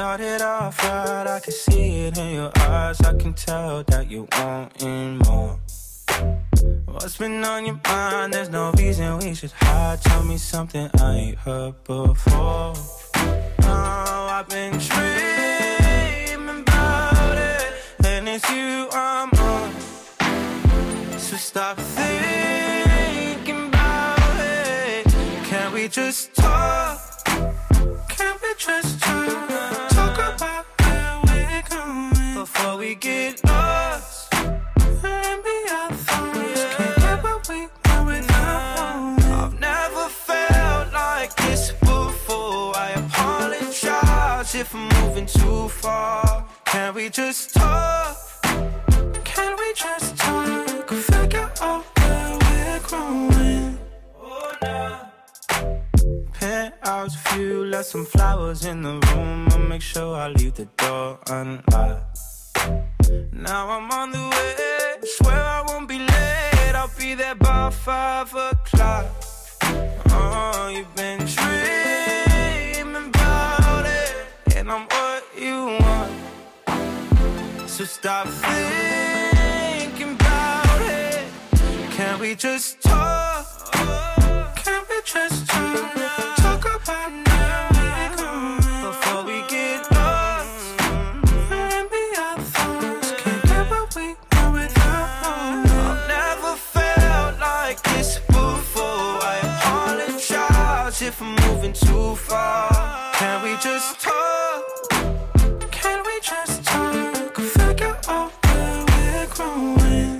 started off right, I can see it in your eyes. I can tell that you wanting more. What's been on your mind? There's no reason we should hide. Tell me something I ain't heard before. Oh, I've been dreaming about it, and it's you I'm on. So stop thinking about it. Can we just talk? Can we just talk? Talk about where we're going before we get lost. And be our thoughts. Can't get what we want without one. I've never felt like this before. I apologize if I'm moving too far. Can we just talk? Can we just talk? Figure out where we're growing. Oh, nah. Penthouse view, left some flowers in the room. I'll make sure I leave the door unlocked. Now I'm on the way, swear I won't be late. I'll be there by five o'clock. Oh, you've been dreaming about it, and I'm what you want. So stop thinking about it. Can we just talk? Can we just talk? Talk about now we're going before we get lost. And be our thoughts. Can't get what we want without one. I've never felt like this before. I apologize if I'm moving too far. Can we just talk? Can we just talk? Figure out where we're growing.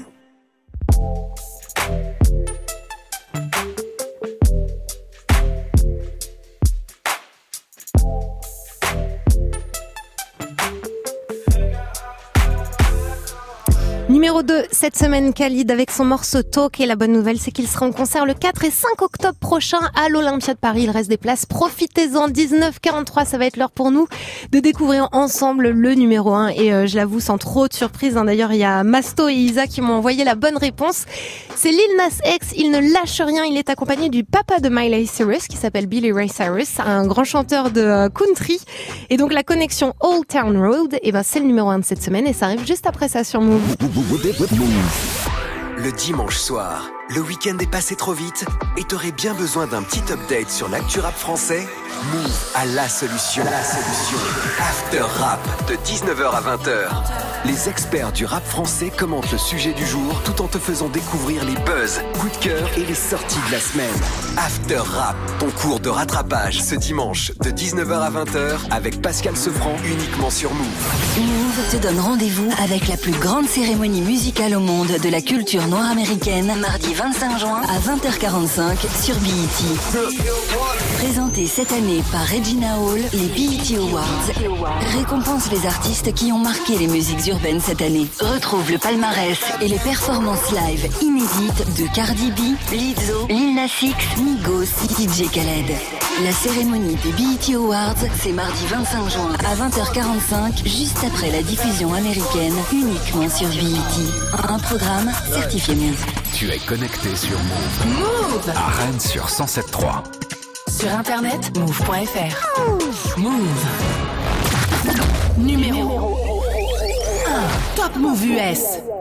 Numéro deux, cette semaine, Khalid avec son morceau Talk. Et la bonne nouvelle, c'est qu'il sera en concert le quatre et cinq octobre prochain à l'Olympia de Paris. Il reste des places. Profitez-en. dix-neuf quarante-trois, ça va être l'heure pour nous de découvrir ensemble le numéro un. Et euh, je l'avoue, sans trop de surprise. Hein. D'ailleurs, il y a Masto et Isa qui m'ont envoyé la bonne réponse. C'est Lil Nas X. Il ne lâche rien. Il est accompagné du papa de Miley Cyrus, qui s'appelle Billy Ray Cyrus, un grand chanteur de euh, country. Et donc, la connexion Old Town Road, et ben, c'est le numéro un de cette semaine. Et ça arrive juste après ça sur Move. Le dimanche soir, le week-end est passé trop vite et t'aurais bien besoin d'un petit update sur l'actu rap français? Move a la solution. La solution. After Rap de dix-neuf heures à vingt heures. Les experts du rap français commentent le sujet du jour tout en te faisant découvrir les buzz, coups de cœur et les sorties de la semaine. After Rap, ton cours de rattrapage ce dimanche de dix-neuf heures à vingt heures avec Pascal Sefranc uniquement sur Move. Move te donne rendez-vous avec la plus grande cérémonie musicale au monde de la culture noire américaine, mardi vingt-cinq juin à vingt heures quarante-cinq sur B E T. Présenté cette année par Regina Hall, les B E T Awards récompensent les artistes qui ont marqué les musiques urbaines cette année. Retrouve le palmarès et les performances live inédites de Cardi B, Lizzo, Lil Nas X, Migos, D J Khaled. La cérémonie des B E T Awards, c'est mardi vingt-cinq juin à vingt heures quarante-cinq, juste après la diffusion américaine, uniquement sur B E T. Un programme certifié Move. Tu es connecté sur Move. Move à Rennes sur cent sept point trois. Sur internet, move point f r. Move. Numéro un. Top Move U S.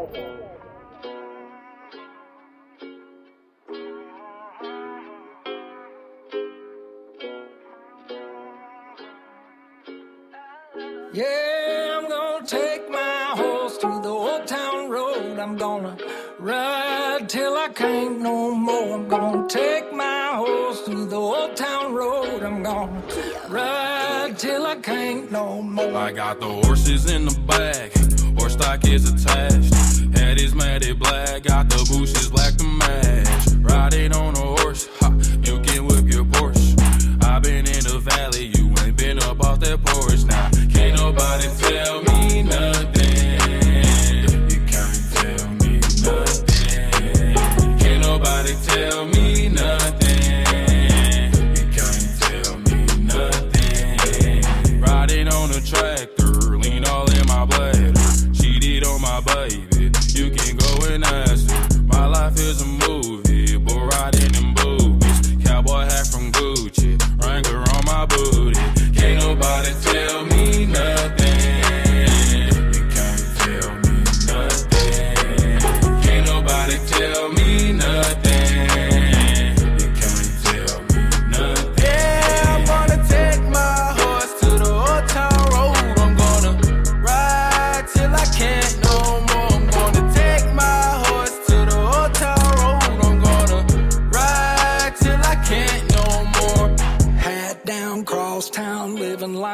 Yeah, I'm gonna take my horse to the old town road. I'm gonna ride till I can't no more. I'm gonna take my horse to the old town road. I'm gonna ride till I can't no more. I got the horses in the back, horse stock is attached. Head is matted black, got the bushes black to match. Riding on a horse, ha, you can whip your Porsche. I've been in the valley, you ain't been up off that porch. Now, can't nobody tell me nothing. You can't tell me nothing. Can't nobody tell me nothing. You can't tell me nothing. Riding on a tractor, lean all in my bladder. Cheated on my baby, you can go and ask her.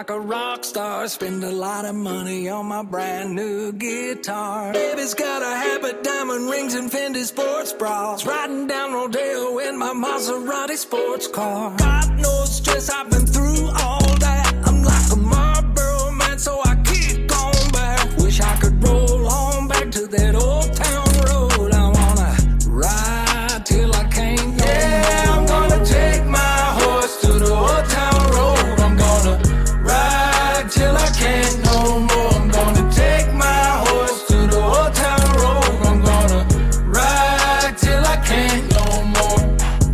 like a rock star. Spend a lot of money on my brand new guitar. Baby's got a habit, diamond rings and Fendi sports bras. Riding down Rodeo in my Maserati sports car. God knows stress, I've been through all that. I'm like a Marlboro man, so I keep going back. Wish I could roll on back to that old town road. I wanna ride till I can't go. Yeah, I'm gonna take my horse to the old town road. I'm gonna ride till I can't no more. I'm gonna take my horse to the old town road. I'm gonna ride till I can't no more.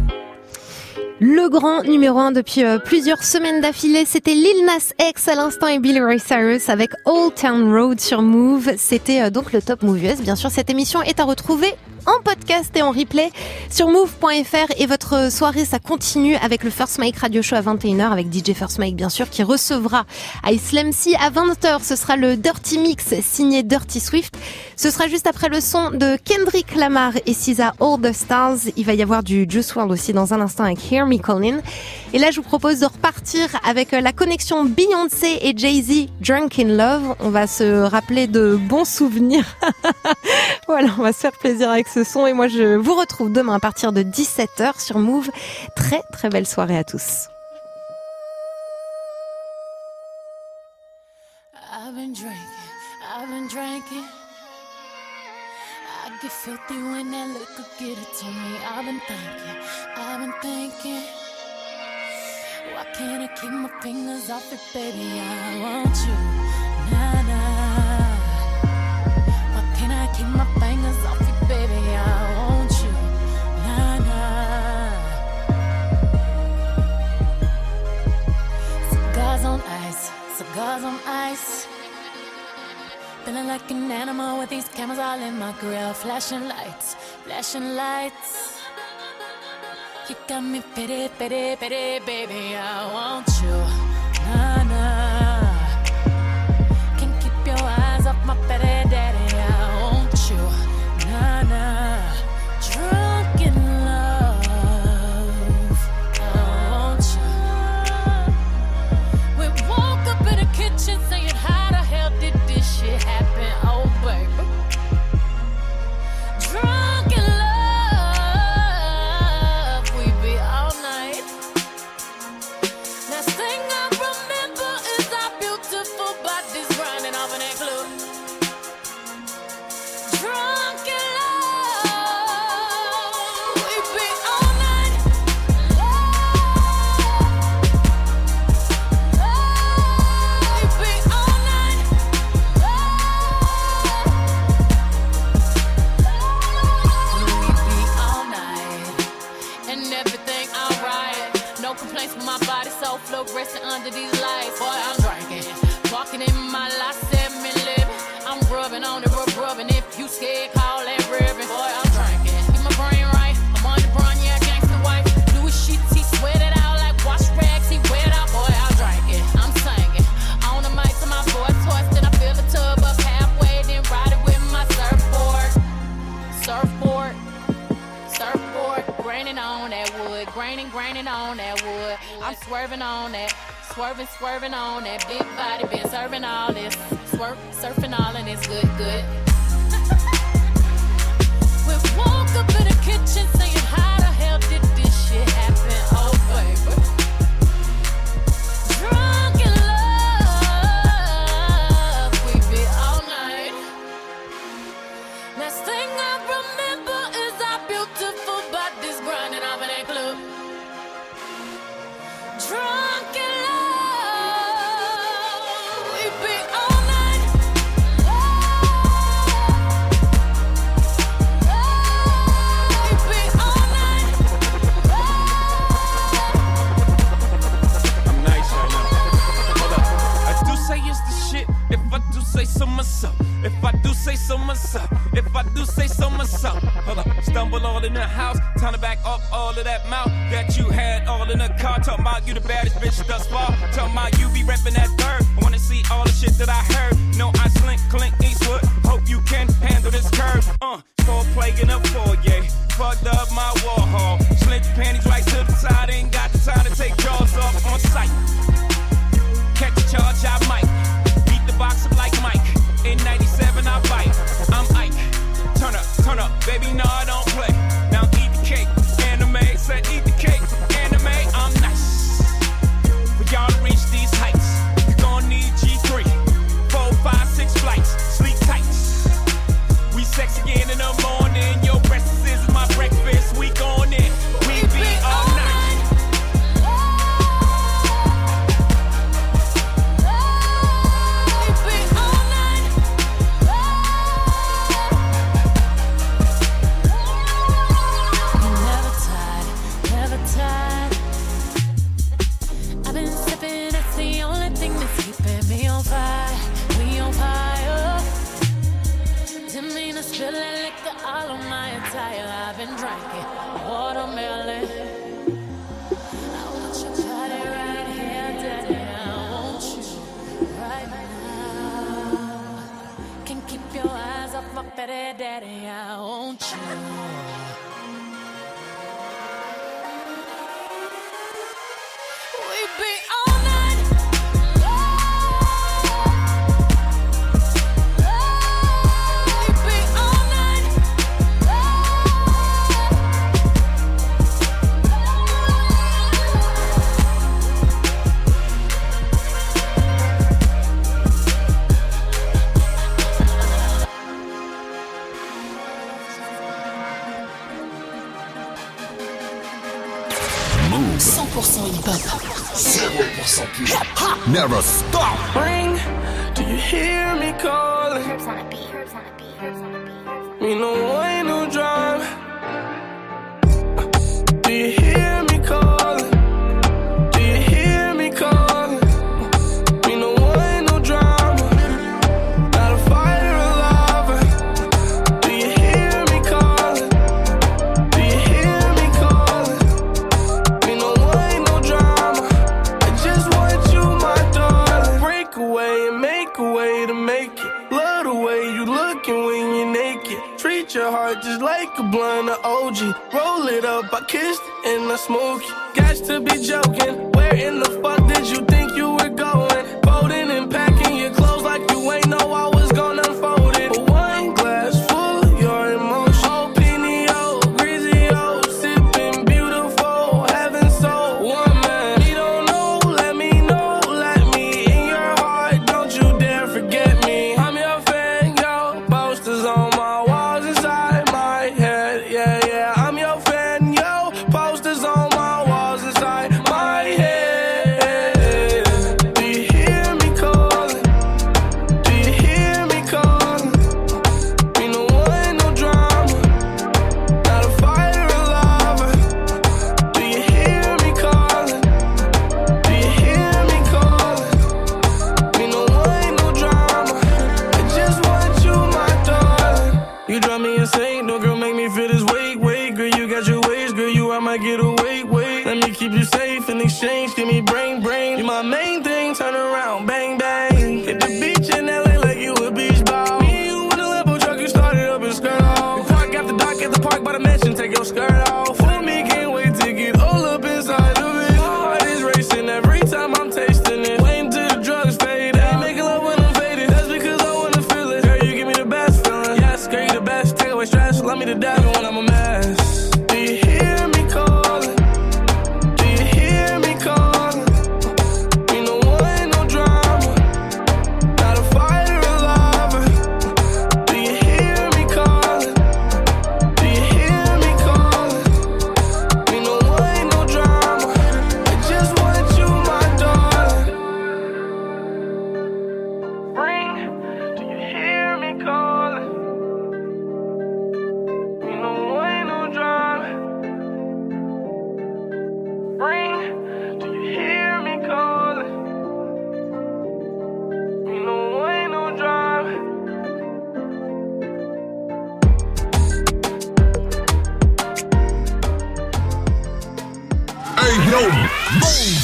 Le grand numéro un depuis euh, plusieurs semaines d'affilée, c'était Lil Nas X à l'instant et Billy Ray Cyrus avec Old Town Road sur Move. C'était euh, donc le Top Move U S. Bien sûr, cette émission est à retrouver en podcast et en replay sur move point f r et votre soirée, ça continue avec le First Mike Radio Show à vingt et une heures avec D J First Mike, bien sûr, qui recevra Islam C à vingt heures. Ce sera le Dirty Mix signé Dirty Swift. Ce sera juste après le son de Kendrick Lamar et S Z A All the Stars. Il va y avoir du Juice world aussi dans un instant avec Hear Me Callin'. Et là, je vous propose de repartir avec la connexion Beyoncé et Jay-Z, Drunk in Love. On va se rappeler de bons souvenirs. Voilà, on va se faire plaisir avec ce son. Et moi, je vous retrouve demain à partir de dix-sept heures sur Move. Très, très belle soirée à tous. I've been drinking, I've been drinking. I get filthy when that liquor get it to me. I've been thinking, I've been thinking. Why can't I keep my fingers off it, baby? I want you, nah, nah. Why can't I keep my fingers off it, baby? I want you, nah, nah. Cigars on ice, cigars on ice. Feeling like an animal with these cameras all in my grill. Flashing lights, flashing lights. You got me pity, pity, pity, baby, I want you, nah, nah. Can't keep your eyes off my pity, daddy, I want you, nah, nah. Drunk in love, I want you. We woke up in the kitchen saying, how the hell did this shit happen, oh baby. Drunk in love. Resting under these lights, boy, I'm drinking. Walking in my life, seven living. I'm rubbing on the rub, rubbing. If you scared, call that ribbon. Boy, I'm drinking. Get my brain right. I'm on the run, yeah, gangsta wife. Louis sheets, he sweat it out like wash rags. He wet out, boy, I'm drinking. I'm singing. On the mic to my voice, hoist, then I fill the tub up halfway, then ride it with my surfboard. Surfboard. Surfboard. Graining on that wood. Graining, graining on that wood. I'm swerving on that, swerving, swerving on that big body, been serving all this, swerve, surfing all and it's good, good. We woke up in the kitchen saying, how the hell did this shit happen, oh baby. Drunk in love, we be all night. Last thing I remember is our beautiful bodies grinding off in that club. Drunk in love, we be all night. We be all night. I'm nice right now. Hold up. I do say it's the shit. If I do say so myself. If I do say so myself. If I do say so myself. Hold up. Stumble all in the house. Time to back up all of that mouth that you had all in the car. Talking about you the baddest bitch thus far. Talking about you be reppin' that third. I wanna see all the shit that I heard. No, I slink, clink, Eastwood. Hope you can handle this curve. Uh, four plague in a foyer. Fucked up my Warhol. Slint your panties right to the side. Ain't got the time to take jaws off on sight. Catch a charge, I might. Beat the box up like Mike. In ninety-seven, I bite. I'm Ike. Turn up, turn up, baby, no, I don't play. Now eat the cake, anime. Said eat the cake, anime. I'm nice. For y'all to reach these heights, you gon' need G three, four, five, six flights. Sleep tight. We sex again in the morning. Your breakfast is my breakfast. We gon' in. We be all night. Spilling liquor all on my attire. I've been drinking watermelon. I want your body right here, daddy. I want you right now. Can't keep your eyes off my fatty daddy. I want you. We be all night. cent pour cent hip-hop, zéro pour cent pur. Never stop. Ring, do you hear me calling? Me no way, no drive. Do you hear me calling? Do you hear me calling? Me no way, no drama. Not a fighter, a lover. Do you hear me calling? Do you hear me calling? Me no way, no drama. I just want you, my darling. Break away and make a way to make it. Love the way you looking when you're naked. Treat your heart just like a blunt of O G. Roll it up, I kissed it and I smoke it. Got to be joking. Where in the fuck did you think you were going? Folding and packing your clothes like you ain't know I was gonna unfold it. A wine glass full of your emotion. Oh, Pinio, Grizio, sipping beautiful, heaven so one man. You don't know, let me know, let me in your heart. Don't you dare forget me. I'm your fan, yo. Posters on my walls inside my head. Yeah, yeah. I'm your fan, yo. Posters on my walls inside my head. Do you hear me calling? Do you hear me calling? Me no one, no drama. Not a fighter, a lover. Do you hear me calling? Do you hear me calling? Me no one, no drama. I just want you, my darling. You drive me insane, no girl make me feel this weight, weight. Girl, you got your ways, girl, you I might get away, wait. Let me keep you safe in exchange, give me brain, brain. You my main thing, turn around, bang, bang. Hit the beach in L A like you a beach ball. Me and you in a Lambo truck, you started up and skirt off. Park after dark at the park by the mansion, take your skirt off. For me, can't wait to get all up inside of it. My heart is racing every time I'm tasting it. Waiting till the drugs fade out. Making love when I'm faded, that's because I wanna feel it. Girl, you give me the best feeling. Yes, girl, you the best. Take away stress, love me to death when I'm a mess. Do you hear me calling? Do you hear me calling? Me no one, no drama. Not a fighter, a lover. Do you hear me calling? Do you hear me calling? Me no one, no drama. I just want you, my darling. Ring, do you hear me calling? Me no one, no drama. Ring, do you hear me calling? Me no way, no drama. Hey yo, move.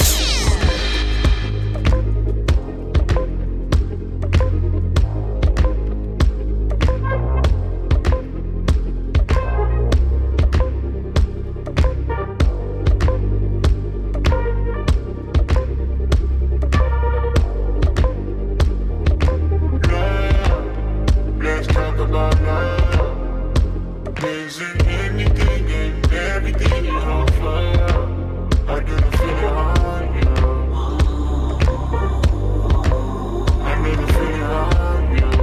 Using anything and everything you offer. I didn't feel it on you. I didn't feel it on you.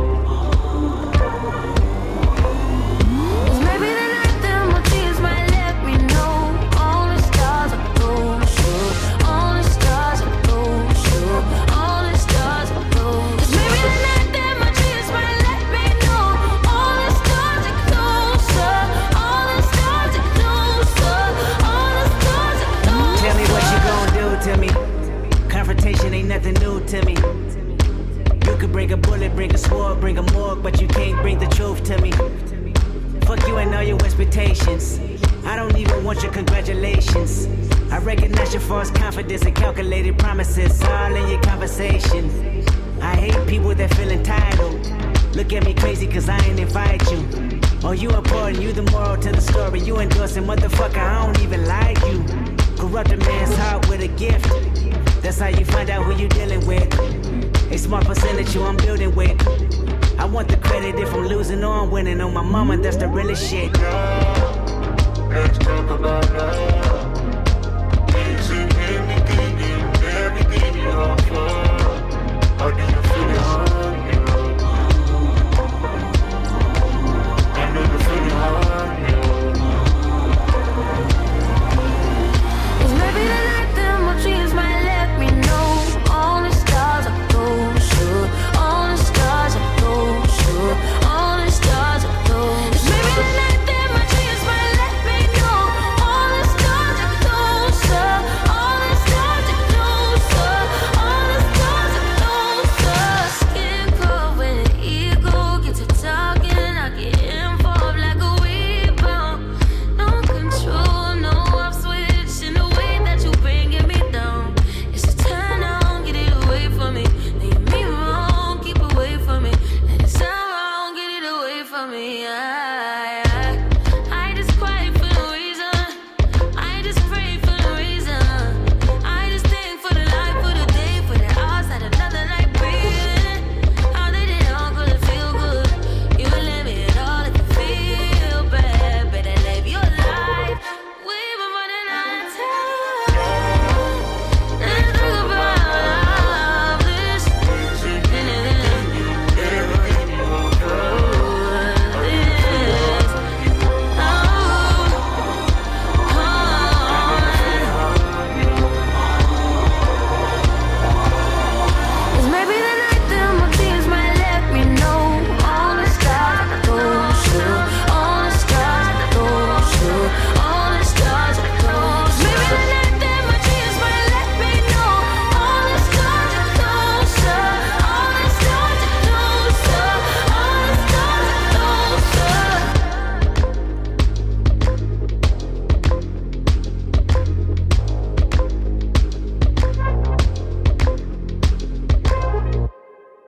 Maybe the night that my tears might let me know. All the stars are gold, sure. All the stars are gold, sure. All the stars are gold. Maybe the night that my tears might let me know. All the stars are closer. All the stars are closer. All the stars are closer. Tell me what you gon' do to me. Confrontation ain't nothing new to me. You could bring a bullet, bring a sword, bring a morgue, but you can't bring the truth to me. Fuck you and all your expectations. I don't even want your congratulations. I recognize your false confidence and calculated promises all in your conversation. I hate people that feel entitled. Look at me crazy cause I ain't invite you. Oh, you important, you the moral to the story. You endorsing, motherfucker, I don't even like you. Corrupt a man's heart with a gift. That's how you find out who you dealing with. A smart percentage you I'm building with. I want the credit if I'm losing or I'm winning. On my mama, that's the realest shit. Let's talk about love. Using anything and everything you offer. I didn't feel it on you. I didn't feel it on you. Maybe the night that my dreams might let me know. All the stars are gold, sure. All the stars are gold, sure. All the stars are gold. Maybe the night that my dreams might let me know. All the stars are closer. All the stars are closer. All the stars are closer. Skin cold when the ego gets to talking. I get involved like a rebound. No control, no off switch in the way that you bringing me down. It's a turn on, get it away from me. Leave me wrong, keep away from me. And it's sound wrong, get it away from me. I